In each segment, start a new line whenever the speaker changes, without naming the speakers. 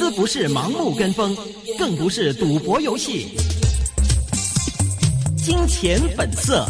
資不是盲目跟風，更不是賭博遊戲。金錢本色。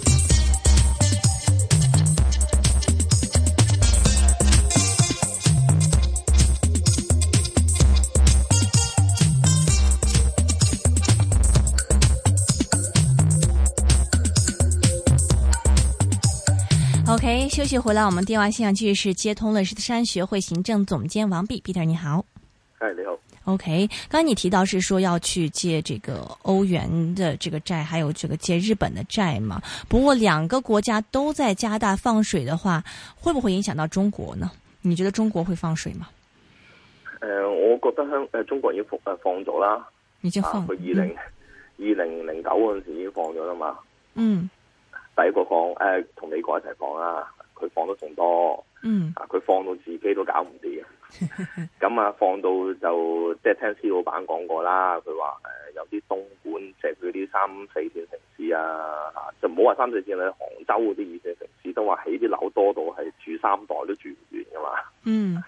OK， 休息回來，我們電話線上繼續是接通了獅子山學會行政總監王弼 Peter， 你好。
係你好。
OK，剛才你提到是說要去借這個歐元的這個債，還有這個借日本的債嘛？不過兩個國家都在加大放水的話，會不會影響到中國呢？你覺得中國會放水嗎？
我覺得中國已經放咗啦，
已經放。
佢2009嗰陣時已經放咗啦嘛。
嗯。
第一個放同美國一齊放啦，佢放得仲多。嗯。佢放到自己都搞唔掂。咁啊，放到就即係聽施老闆講過啦，佢話有啲東莞即係佢啲3、4線城市啊，就唔好話3、4線啦，杭州嗰啲2線城市都話起啲樓多到係住3代都住唔完噶嘛。嗯。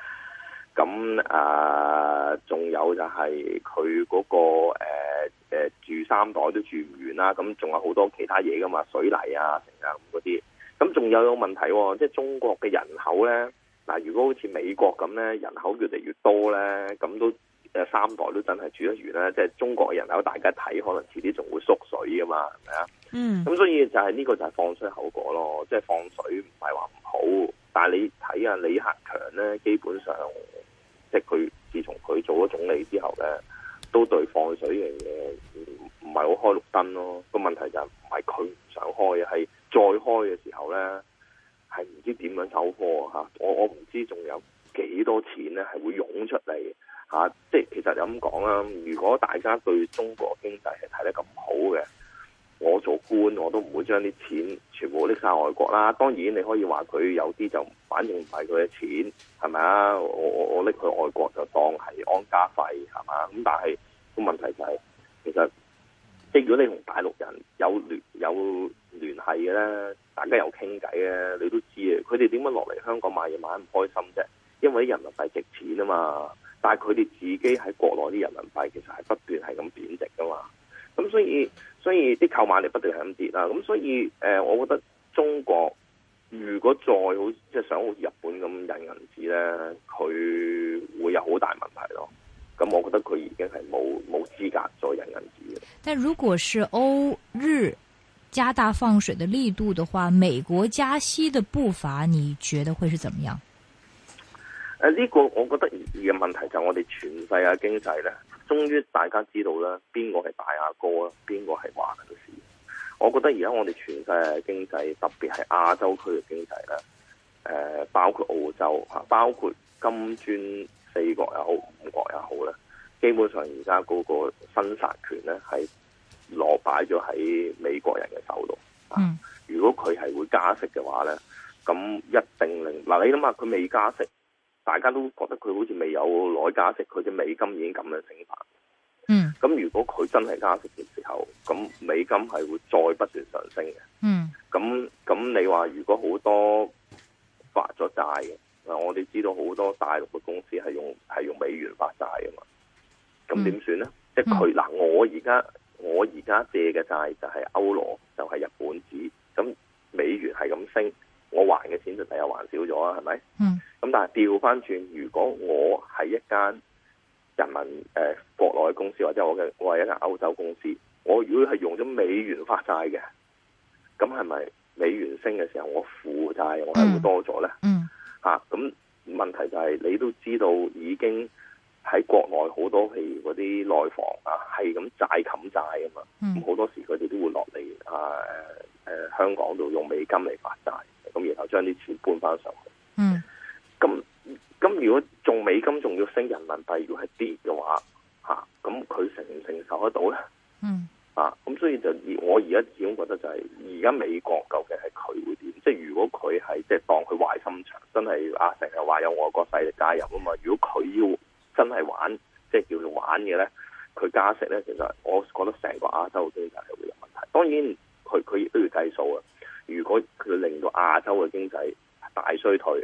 咁仲有就係佢嗰個住3代都住唔完啦，咁仲有好多其他嘢噶嘛，水泥啊、成啊咁嗰啲。咁仲有個問題喎，即係中國嘅人口咧。嗱，如果好似美國咁咧，人口越嚟越多咧，咁都3代都真係住得完咧。即係中國嘅人口，大家睇可能遲啲仲會縮水噶嘛，係咪啊？嗯。咁所以就係呢個就係放水後果咯。即係放水唔係話唔好，但係你睇下李克強咧，基本上即係佢自從佢做咗總理之後咧，都對放水嘅嘢唔係好開綠燈咯。個問題就係唔係佢唔想開，係再開嘅時候咧。係唔知點樣收貨嚇，我唔知仲有幾多錢咧係會湧出嚟嚇，即係其實就咁講啦。如果大家對中國經濟係睇得咁好嘅，我做官我都唔會將啲錢全部拎晒外國啦。當然你可以話佢有啲就反正唔係佢嘅錢，係咪啊？我拎去外國就當係安家費係嘛？咁但係個問題就係其實即係如果你同大陸人有聯繫嘅咧，大家有傾偈咧，你都知啊。佢哋點樣落嚟香港買嘢買得唔開心啫？因為啲人民幣值錢啊嘛。但係佢哋自己喺國內啲人民幣其實係不斷係咁貶值噶嘛。咁所以啲購買力不斷係咁跌啦。咁所以我覺得中國如果再好即係想好似日本咁印銀紙咧，佢會有好大問題咯。咁我覺得佢已經係冇資格再印銀紙嘅。
但如果是歐日加大放水的力度的話，美國加息的步伐，你覺得會是怎麼樣？
呢個我覺得而嘅問題就係我哋全世界經濟咧，終於大家知道啦，邊個係大阿哥啦，邊個係話嘅事。我覺得而家我哋全世界經濟，特別係亞洲區嘅經濟咧，包括澳洲吓，包括金磚4國又好，5國又好咧，基本上而家嗰個生殺權咧係落擺咗喺美國人嘅手度。嗯，如果佢係會加息嘅話咧，咁一定令嗱，你諗下佢未加息，大家都覺得佢好似未有攞加息，佢隻美金已經咁樣升法。嗯，咁如果佢真係加息嘅時候，咁美金係會再不斷上升嘅。嗯，咁你話如果好多發咗債嘅，我哋知道好多大陸嘅公司係用美元發債㗎嘛，咁點算咧？即係佢嗱，我而家借嘅債就係歐羅，就係日本紙，咁美元係咁升，我還嘅錢就第日還少咗啊，係咪？嗯。咁但係調翻轉，如果我係一間人民國內嘅公司，或者我係一間歐洲公司，我如果係用咗美元發債嘅，咁係咪美元升嘅時候，我負債我係會多咗咧？嗯。嚇，咁問題就係你都知道已經。喺國內好多譬如嗰啲內房啊，係咁債冚債啊嘛，咁好多時佢哋都會落嚟香港度用美金嚟發債，咁然後將啲錢搬翻上去。嗯，咁如果仲美金仲要升，人民幣如果係跌嘅話，咁佢承唔承受得到咧？嗯，咁所以就我而家始終覺得就係而家美國究竟係佢會點？即係如果佢係即係當佢壞心腸，真係成日話有外國勢力介入啊嘛，如果佢要真係玩，即係叫做玩嘅咧，佢加息咧，其實我覺得成個亞洲經濟係會有問題。當然，佢亦都要計數啊。如果佢令到亞洲嘅經濟大衰退，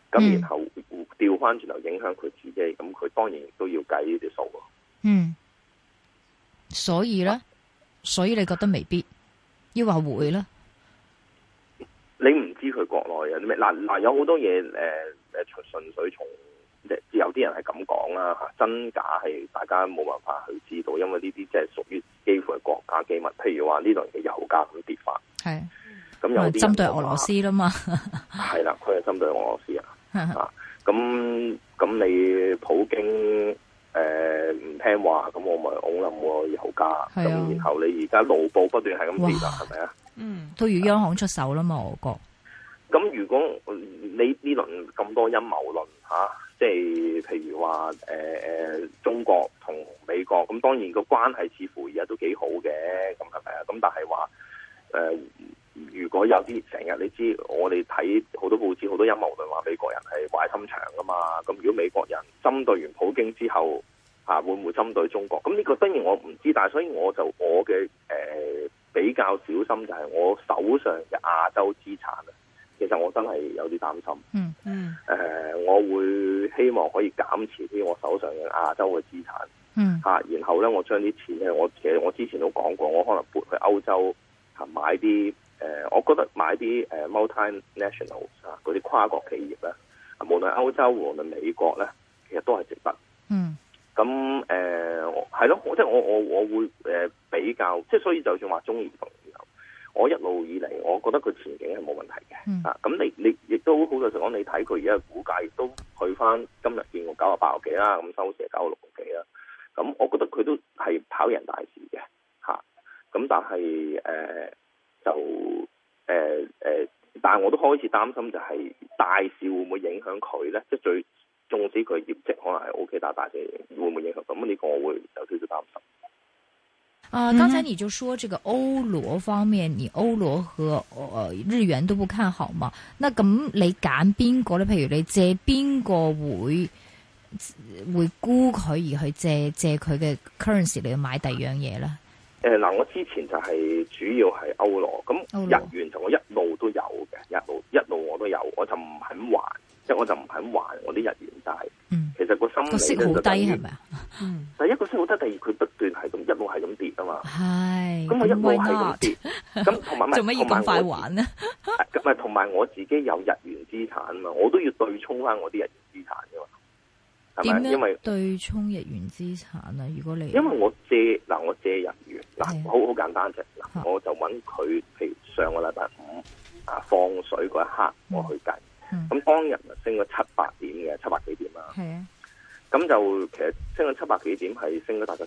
咁然後調翻轉頭影響佢自己，咁佢當然亦都要計呢啲數咯。
所以咧，所以你覺得未必，抑或會咧？
你唔知佢國內有啲咩？嗱，有好多嘢純粹從有啲人係咁講啦嚇，真假係大家冇辦法去知道，因為呢啲即係屬於幾乎係國家機密。譬如話呢輪嘅油價咁跌法，
係
咁有啲
針對俄羅斯啦嘛，
係啦，佢係針對俄羅斯啊。咁你普京唔聽話，咁我咪拱冧個油價。咁然後你而家盧布不斷係咁跌啦，係咪啊？
都要央行出手啦嘛，俄國。
咁如果你呢輪咁多陰謀論嚇，即係譬如話中國同美國，咁當然個關係似乎而家都幾好嘅，咁係咪啊？咁但係話如果有啲成日你知我哋睇好多報紙好多陰謀論話美國人係壞心腸噶嘛，咁如果美國人針對完普京之後會唔會針對中國？咁呢個當然我唔知，但係所以我嘅比較小心就係我手上嘅亞洲資產啊，其實我真係有啲擔心。我會希望可以減持啲我手上嘅亞洲嘅資產。然後咧我將啲錢咧，其實我之前都講過，我可能撥去歐洲買啲我覺得買啲multinational 嗰啲跨國企業咧，無論歐洲無論美國咧，其實都係值得。咁係咯，即係我會比較，即係所以就算話中移動，我一路以嚟，我覺得佢前景係冇問題嘅。咁你亦都好老實講，你睇佢而家嘅股價亦都去翻今日見過98個幾啦，咁收市係96個幾啦。咁我覺得佢都係跑贏大市嘅嚇。咁但係但係我都開始擔心就係大市會唔會影響佢咧？即係縱使佢業績可能係 OK，但係大市會唔會影響？咁呢個我會有少少擔心。
剛才你就說這個歐羅方面，你歐羅和日元都不看好嘛？那咁你揀邊個咧？譬如你借邊個會沽佢而去借佢嘅 currency 嚟買第二樣嘢咧？
我之前就係主要係歐羅，咁日元就我一路都有嘅，一路我都有，我就唔肯還，即係我就唔肯還我啲日元債。其實個心理
息好低係咪啊？
第一個息好低，第二佢不斷係咁一路係咁跌啊嘛。
係，
咁我一路係咁跌，咁同埋
做乜要咁快還呢？
咁同埋我自己有日元資產啊嘛，我都要對沖翻我啲日元資產噶嘛。
點樣
因為
對沖日元資產啊？如果你
因為我借日元好簡單啫。我就揾佢，譬如上個禮拜五放水嗰一刻，我去計。咁當日升咗700點嘅700幾點啦。係啊。咁就其實升咗700幾點，係升咗大概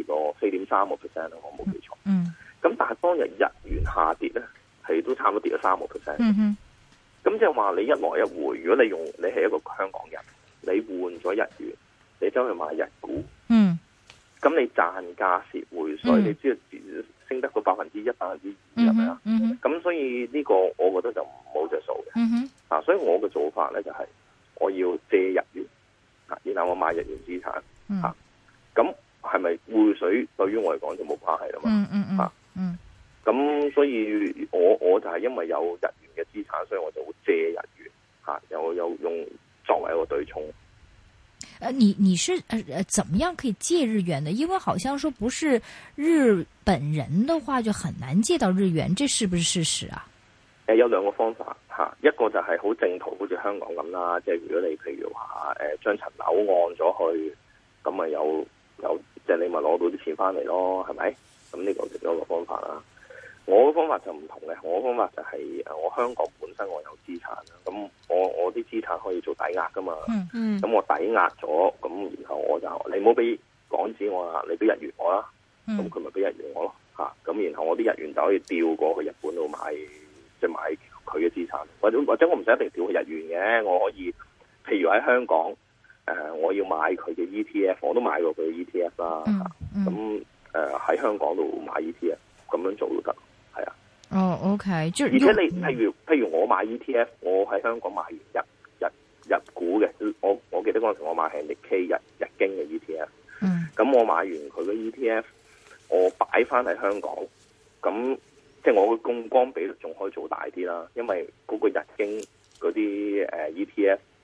4.3%啦，我冇記錯。咁但係當日日元下跌咧，係都差唔多跌咗3%。咁即係話你一來一回，如果你係一個香港人，你換咗日元，你走去買日股，咁你賺價蝕匯水，你知道升得個1%、2%係咪啊？咁所以呢個我覺得就冇着數嘅。所以我嘅做法咧就係我要借日元，然後我買日元資產。咁係咪匯水對於我嚟講就冇關係啦嘛？咁所以我就係因為有日元嘅資產，所以我就會借日元，有用作為一個對沖。
你是怎麼樣可以借日元的？因為好像說不是日本人的話就很難借到日元，這是不是事實啊？
有兩個方法吓，一個就係好正途，好似香港咁啦，即係如果你譬如話將層樓按咗去，咁咪有即係你咪攞到啲錢翻嚟咯，係咪？咁呢個其中一個方法啦。我嘅方法就唔同嘅，我嘅方法就係我香港本身我有資產啦，咁我啲資產可以做抵押噶嘛，咁我抵押咗，咁然後我就你唔好俾港紙我啦，你俾日元我啦，咁佢咪俾日元我咯，咁然後我啲日元就可以調過去日本度買，即係買佢嘅資產，或者我唔使一定調去日元嘅，我可以譬如喺香港我要買佢嘅 ETF， 我都買過佢嘅 ETF 啦，咁喺香港度買 ETF 咁樣做都得。
OK，
而且你譬如我買 ETF， 我喺香港買完日股嘅，我記得嗰陣時我買係Nikkei日經嘅 ETF，咁我買完佢嘅 ETF， 我擺翻喺香港，咁即係我嘅槓桿比率仲可以做大啲啦，因為嗰個日經嗰啲ETF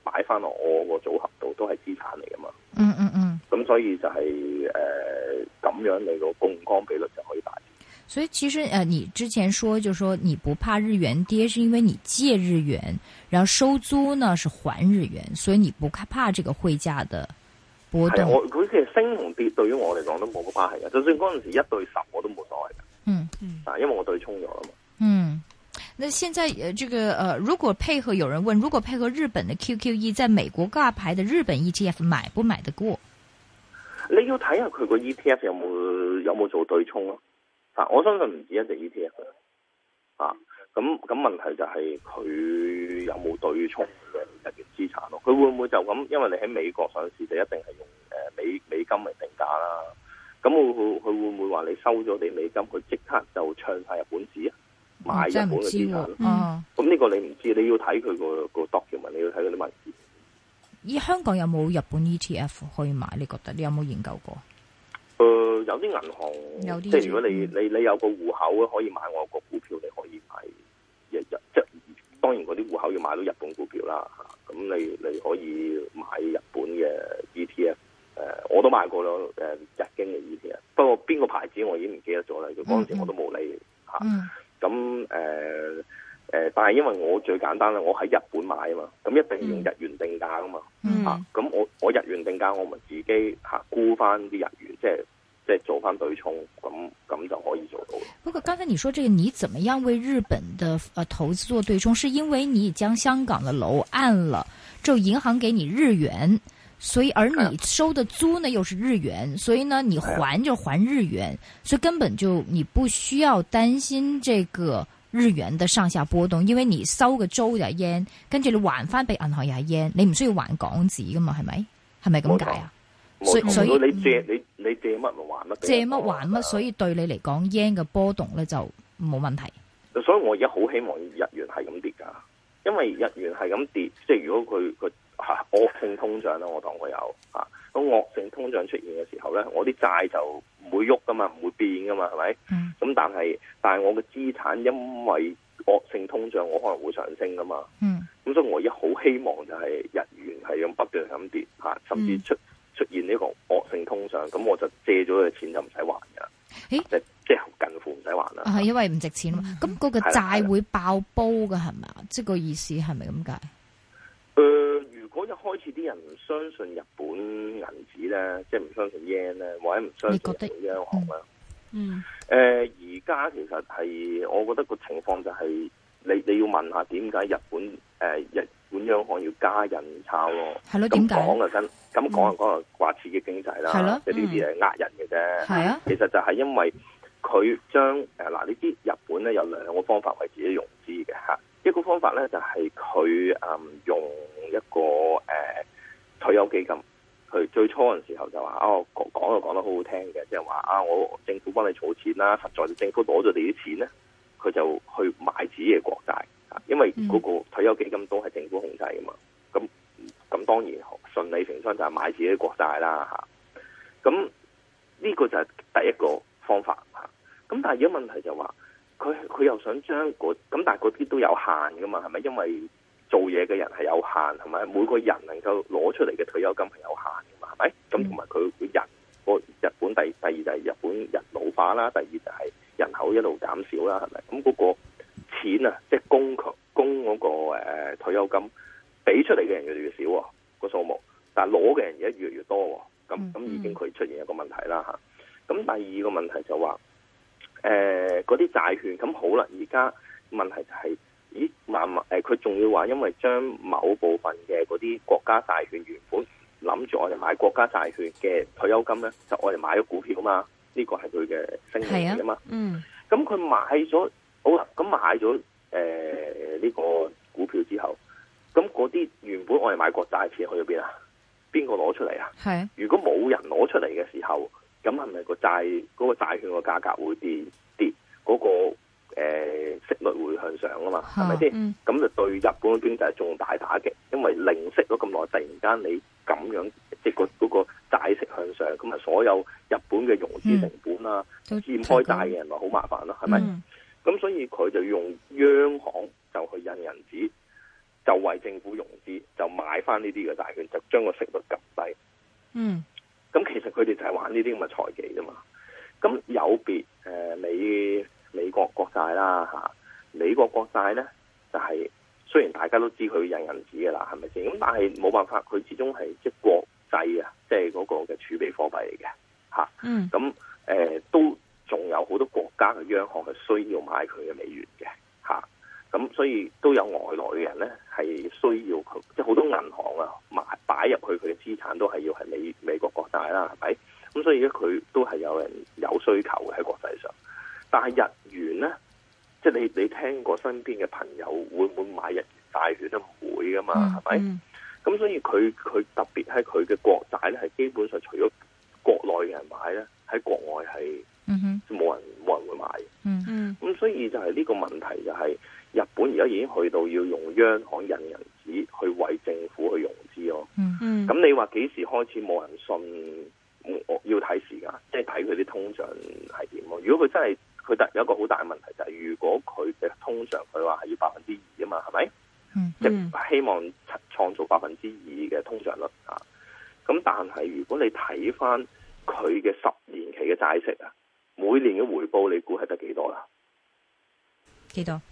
擺翻落我個組合度都係資產嚟噶嘛。咁所以就係咁樣，你個槓桿比率就可以大。
所以其實你之前說就說你不怕日元跌，是因為你借日元，然後收租呢是還日元，所以你不怕這個匯價的波動。
佢其實升同跌對於我嚟講都冇乜關係嘅，就算嗰陣時1對10我都冇所謂嘅。因為我對沖咗啦嘛。
那現在這個如果配合有人問，如果配合日本的 QQE， 在美國掛牌的日本 ETF 買不買得過？
你要睇下佢個 ETF 有冇做對沖咯。我相信唔止一隻 ETF 咁問題就係佢有冇對沖嘅日元資產咯？佢會唔會就咁？因為你喺美國上市就一定係用美金嚟定價啦。咁佢會唔會話你收咗啲美金，佢即刻就唱晒日本紙啊？買日本嘅資產？咁呢個你唔知，你要睇佢個 document，你要睇嗰啲文字。
而香港有冇日本 ETF 可以買？你覺得你有冇研究過？
有啲銀行，即係如果你有個戶口可以買我個股票，你可以買即當然嗰啲戶口要買到日本股票啦。咁你可以買日本嘅 ETF，我都買過咯。日經嘅 ETF， 不過邊個牌子我已經唔記得咗啦。佢嗰陣時我都冇理咁但係因為我最簡單啦，我喺日本買啊嘛，咁一定要用日元定價噶嘛。咁我日元定價，我咪自己沽翻啲日元，即係做翻對沖，咁就可以做到。
不過剛才你說這個，你怎麼樣為日本的投資做對沖？是因為你將香港的樓按了，之後銀行給你日元，所以而你收的租呢又是日元，所以呢你還就還日元，所以根本就你不需要擔心這個日元的上下波動，因為你收嘅租就係 yen， 跟住你還翻俾銀行又係 yen， 你唔需要還港紙噶嘛，係咪？係咪咁解啊？所以
你借乜咪還乜，
借乜還乜，所以對你嚟講 yen 嘅波動咧就冇問題。
所以我而家好希望日元係咁跌噶，因為日元係咁跌，即係如果佢惡性通脹啦，我當佢有咁惡性通脹出現嘅時候咧，我啲債就唔會喐噶嘛，唔會變噶嘛，係咪？咁但係我嘅資產因為惡性通脹，我可能會上升噶嘛。咁所以我而家好希望就係日元係咁不斷咁跌甚至出現呢個惡性通脹，咁我就借咗嘅錢就唔使還噶，即係近乎唔使還啦。
係因為唔值錢嘛。咁嗰個債會爆煲噶係咪啊？即係個意思係咪咁解？
如果一開始啲人唔相信日本銀紙咧，即係唔相信 yen 咧，或者唔相信日本央行咧，而家其實係我覺得個情況就係你要問下點解日本央行要加印鈔咯？係咯，點解？咁講話刺激經濟啦，即係呢啲係呃人嘅啫。係啊，其實就係因為佢將呢啲日本咧有兩個方法為自己融資嘅嚇。一個方法咧就係佢用一個退休基金，佢最初嘅時候就話講得好好聽嘅，即係話我政府幫你儲錢啦，實在政府攞咗你啲錢咧，佢就去買自己嘅國債，因為嗰個退休基金都係政府控制噶嘛，咁當然順理成章就係買自己嘅國債啦嚇。咁呢個就係第一個方法嚇。咁但係而家問題就話佢又想將咁，但係嗰啲都有限噶嘛，係咪？因為做嘢嘅人係有限，係咪？每個人能夠攞出嚟嘅退休金係有限噶嘛，係咪？咁同埋佢日本第二就係日本人老化啦，第二就係人口一路減少啦，係咪？咁嗰個錢啊，即係供嗰個退休金俾出嚟嘅人越嚟越少個數目，但係攞嘅人而家越嚟越多，咁已經佢出現一個問題啦嚇。咁第二個問題就話嗰啲債券咁好啦，而家問題就係佢仲要話因為將某部分嘅嗰啲國家債券原本諗住我哋買國家債券嘅退休金咧，就我哋買咗股票嘛，呢個係佢嘅聲明嚟啊嘛。咁佢買咗好啦，咁買咗呢個股票之後，咁嗰啲原本我哋買國債錢去咗邊啊？邊個攞出嚟啊？係。如果冇人攞出嚟嘅時候，咁係咪嗰個債券個價格會跌嗰個息率會向上啊嘛？係咪先？咁就對日本嘅經濟仲大打擊，因為零息咗咁耐，突然間你咁樣即係嗰個債息向上，咁啊所有日本嘅融資成本啊，欠開債嘅人咪好麻煩咯，係咪？咁所以佢就用央行就去印銀紙， 就為政府融資，就買翻呢啲嘅債券，就將個息率撳低。咁其實佢哋就係玩呢啲咁嘅財技啫嘛。咁有別美國國債啦嚇，美國國債咧就係、雖然大家都知佢印銀紙嘅啦，係咪先？咁但係冇辦法，佢始終係即係國際啊，即係嗰個嘅儲備貨幣嚟嘅嚇。咁都仲有好多國家嘅央行係需要買佢嘅美元嘅嚇。咁所以都有外來嘅人咧係需要佢，即係好多銀行啊擺入去佢嘅資產都係要係美國國債啦，係咪？咁所以咧佢都係有人有需求嘅喺國際上。但係日元咧，即係你聽過身邊嘅朋友會唔會買日元債券都唔會噶嘛，係咪？咁所以佢特別喺佢嘅國債咧，係基本上除咗國內嘅人買咧，喺國外係冇人會買。咁所以就係呢個問題就係、日本而家已經去到要用央行印銀紙去為政府去融資咯。咁你話幾時開始冇人信？我要睇時間，即係睇佢啲通脹係點咯。如果佢真係佢有一個好大嘅問題就係、如果佢嘅通脹佢話係要2%啊嘛，係咪？即係希望創造2%嘅通脹率啊。咁但係如果你睇翻佢嘅10年期嘅債息啊，每年嘅回報你估係得幾多啦？
幾多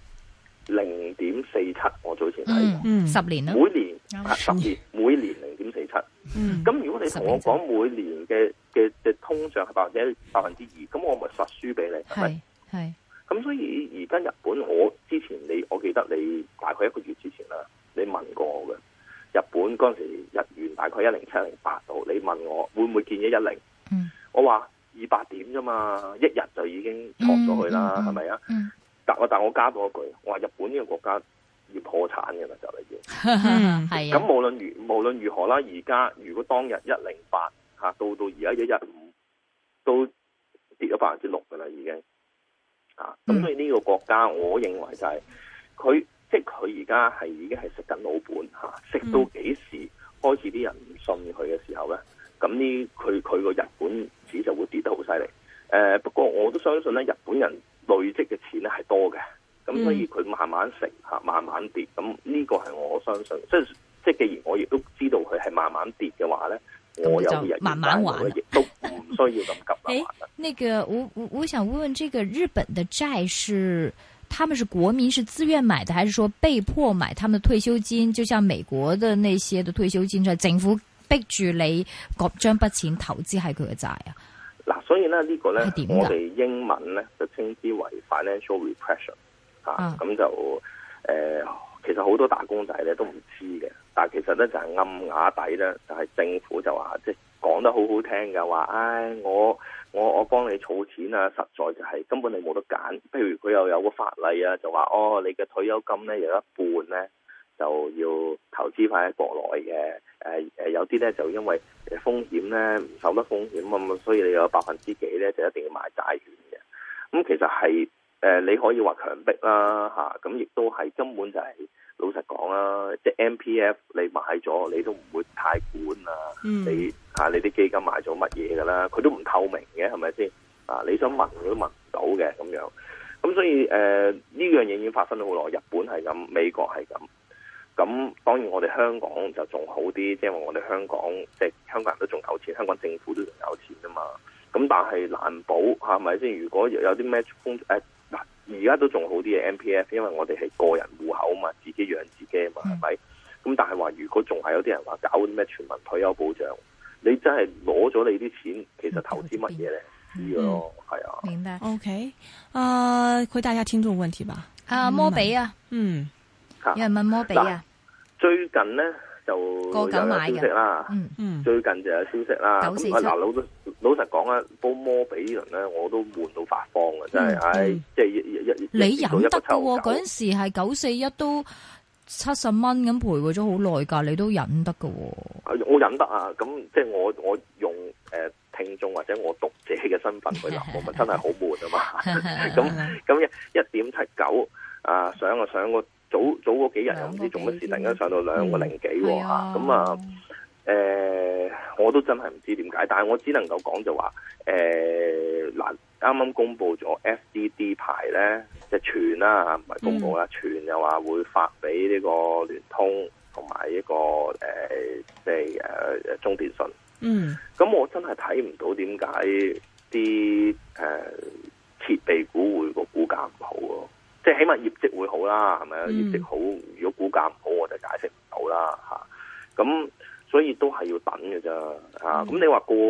？0.47，我早前睇過
，10年啦，
每年10年，每年0.47。咁如果你同我講每年嘅通脹係2%，咁我咪實輸俾你，係咪？
係。咁
所以而家日本，我記得你大概1個月之前啦，你問過我嘅日本嗰陣時日元大概107-108度，你問我會唔會見110？我話200點啫嘛，一日就已經挫咗去啦，係咪啊？但我加多一句，我話日本呢個國家要破產嘅啦，就嚟要。係。咁無論如何啦，而家如果當日108嚇，到而家115都跌咗6%嘅啦，已經。咁所以呢個國家，我認為就係佢而家係已經係食緊老本嚇，食到幾時開始啲人唔信佢嘅時候咧，咁佢個日本紙就會跌得好犀利。不過我都相信咧，日本人累積嘅錢咧係多嘅，咁所以佢慢慢食嚇，慢慢跌。咁呢個係我相信，即係既然我亦都知道佢係慢慢跌嘅話咧，我有日
慢慢還，
亦都唔需要咁急啦。
那個我想問，這個日本的債是他們是國民是自願買的，還是說被迫買？他們的退休金就像美國的那些的退休金，就係政府逼住你將筆錢投資喺佢嘅債啊？
嗱，所以咧呢個咧，我哋英文咧就稱之為 financial repression 咁就其實好多打工仔咧都唔知嘅，但係其實咧就係暗啞底咧，就係政府就話即係講得好好聽嘅話，唉，我幫你儲錢啊，實在就係根本你冇得揀。譬如佢又有個法例啊，就話你嘅退休金咧有一半咧就要投資翻喺國內嘅，有啲咧就因為風險咧唔受得風險咁，所以你有%幾咧就一定要買債券嘅。咁其實係你可以話強迫啦嚇，咁亦都係根本就係、老實講啦，即係 MPF 你買咗你都唔會太管啊，你啲基金買咗乜嘢噶啦，佢都唔透明嘅，係咪先？你想問佢都問唔到嘅咁樣。咁所以呢樣嘢已經發生咗好耐，日本係咁，美國係咁。咁當然我哋香港就仲好啲，即係話我哋香港即係香港人都仲有錢，香港政府都仲有錢啊嘛。咁但係難保係咪先？如果有啲咩而家都仲好啲嘅 MPF， 因為我哋係個人戶口嘛，自己養自己啊嘛，係咪？咁但係話如果仲係有啲人話搞啲咩全民退休保障，你真係攞咗你啲錢，其實投資乜嘢咧？知咯，係啊。
明白。
OK，回答一下聽眾問題吧。
摩比啊，有人問摩比啊。
最近咧就有消息啦，最近就有消息啦。咁老實講啊，煲摩比呢輪咧，我都悶到發慌啊！真係，即係
你忍得噶喎？嗰陣時係941都70蚊咁徘徊咗好耐噶，你都忍得噶喎？
我忍得啊！咁即係我用聽眾或者我讀者嘅身份去諗，我咪真係好悶啊嘛！咁1.79上個早嗰幾日又唔知做乜事，突然間上到2個零幾喎嚇，咁我都真係唔知點解，但係我只能夠講就話嗱， 啱啱公布咗 FDD 牌咧，即係傳啦，唔係公布啦，傳又話會發俾呢個聯通同埋呢個即係中電信。
嗯，
咁我真係睇唔到點解啲設備股會個股價唔好咯，即係起碼業績會好啦，係咪啊？業績好，如果股價唔好，我就解釋唔到啦嚇。咁所以都係要等嘅啫嚇。咁你話過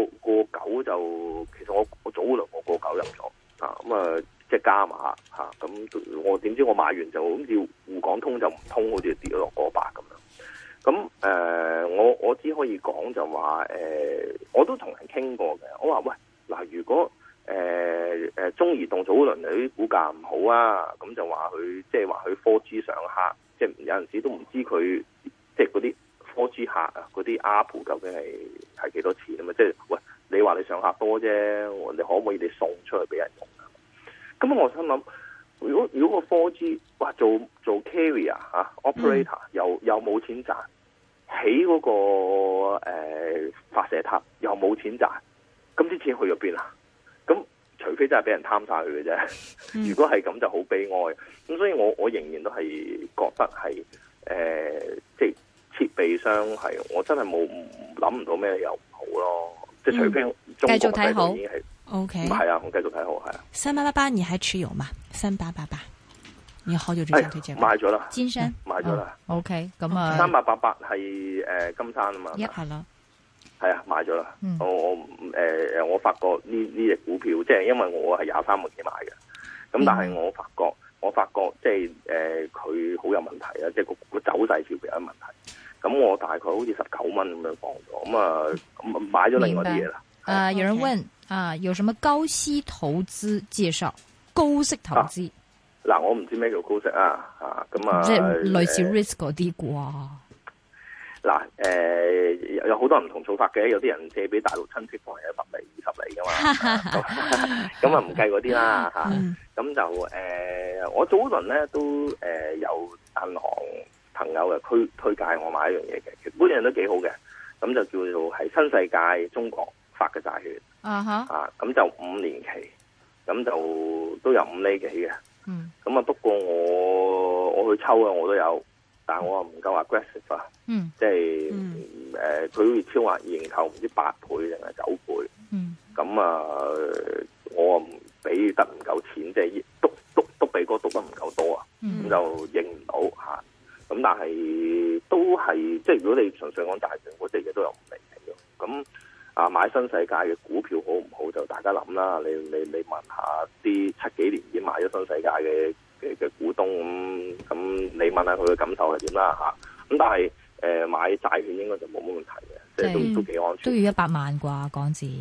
9就，其實我早輪我過9入咗啊，咁啊即係加碼嚇。咁我點知我買完就好似滬港通就唔通，好似跌咗落過8咁樣。咁我只可以講就話我都同人傾過嘅。我話喂嗱，如果中移動早輪啲股價唔好啊，咁就話佢即係話佢 4G 上客，即係有陣時都唔知佢即係嗰啲 4G 客啊，嗰啲 ARPU 究竟係幾多錢啊嘛？即係喂，你話你上客多啫，你可唔可以你送出去俾人用啊？咁我心諗，如果個 4G 哇做 carrier operator 又冇錢賺，起嗰個發射塔又冇錢賺，咁啲錢去咗邊啊？咁除非真係俾人貪晒佢嘅啫。如果係咁就好悲哀。咁所以我仍然都係覺得係即係設備商係我真係諗唔到咩又唔好咯。即係除非中國
繼續睇好
已經係
OK。
係啊，我繼續睇好係啊。
3888你還持有嗎？3888，你好久之前推薦過。
買咗啦，
金山
買咗啦。
OK，咁啊
3888係金山啊嘛。
係啦。
係啊，買咗啦。我發覺呢隻股票，即係因為我係23蚊幾買嘅，咁但係我發覺即係佢好有問題啊，即係個走勢似乎有問題。咁我大概好似19蚊咁樣放咗，咁啊買咗另外啲嘢啦。
有人問有什麼高息投資介紹？高息投資
嗱，我唔知咩叫高息啊，咁啊，
即係類似 risk 嗰啲啩。
嗱，有好多唔同做法嘅，有啲人借俾大陸親戚放係10厘、20厘噶嘛，咁啊唔計嗰啲啦嚇。咁就我早輪咧都有銀行朋友嘅推介我買一樣嘢嘅，其實嗰樣都幾好嘅。咁就叫做係新世界中國發嘅債券，咁就5年期，咁就都有5厘幾嘅。咁啊不過我去抽啊，我都有。但係我又唔夠 aggressive 啊，即係佢好似超額認購唔知8倍定係9倍，咁我唔俾得唔夠錢，即係篤鼻哥篤得唔夠多啊，咁就認唔到嚇。咁但係都係即係如果你純粹講大盤嗰隻嘢都有5厘幾嘅，咁買新世界嘅股票好唔好就大家諗啦。你問下啲7幾年已經買咗新世界嘅股東，咁你問下佢嘅感受係點啦嚇。咁但係買債券應該就冇乜問題嘅，即係都幾安全。
都要100萬啩港紙。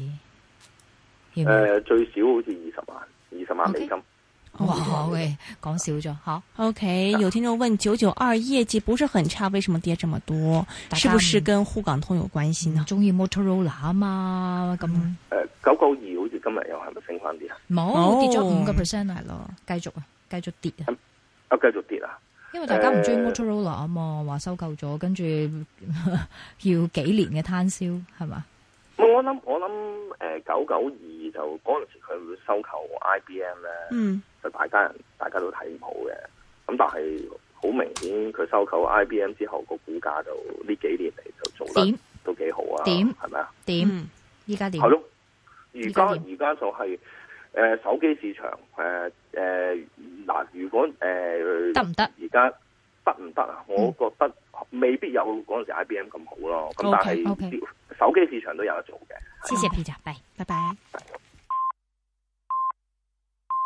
最少好似20萬美金。
哇喂，講少咗嚇。
OK， 有聽眾問992業績不是很差，為什麼跌這麼多？是不是跟滬港通有關係呢？
中意 Motorola 啊嘛，咁
992好似今日又係咪升翻啲啊？
冇，跌咗5%係咯，繼續跌啊！
繼續跌啊！
因為大家唔中意 Motorola 啊嘛，話收購咗，跟住要幾年嘅攤銷係嘛？
我諗992就嗰陣時佢會收購 IBM 咧，就大家都睇唔好嘅。咁但係好明顯佢收購 IBM 之後個股價就呢幾年嚟就做得都幾好啊？點係咪啊？
點依家點？
係咯，而家就係手機市場嗱，如果
得唔得？
而家得唔得啊？我覺得未必有嗰陣時 IBM 咁好咯。咁但係手機市場都有得做嘅。
謝謝 Peter，拜拜。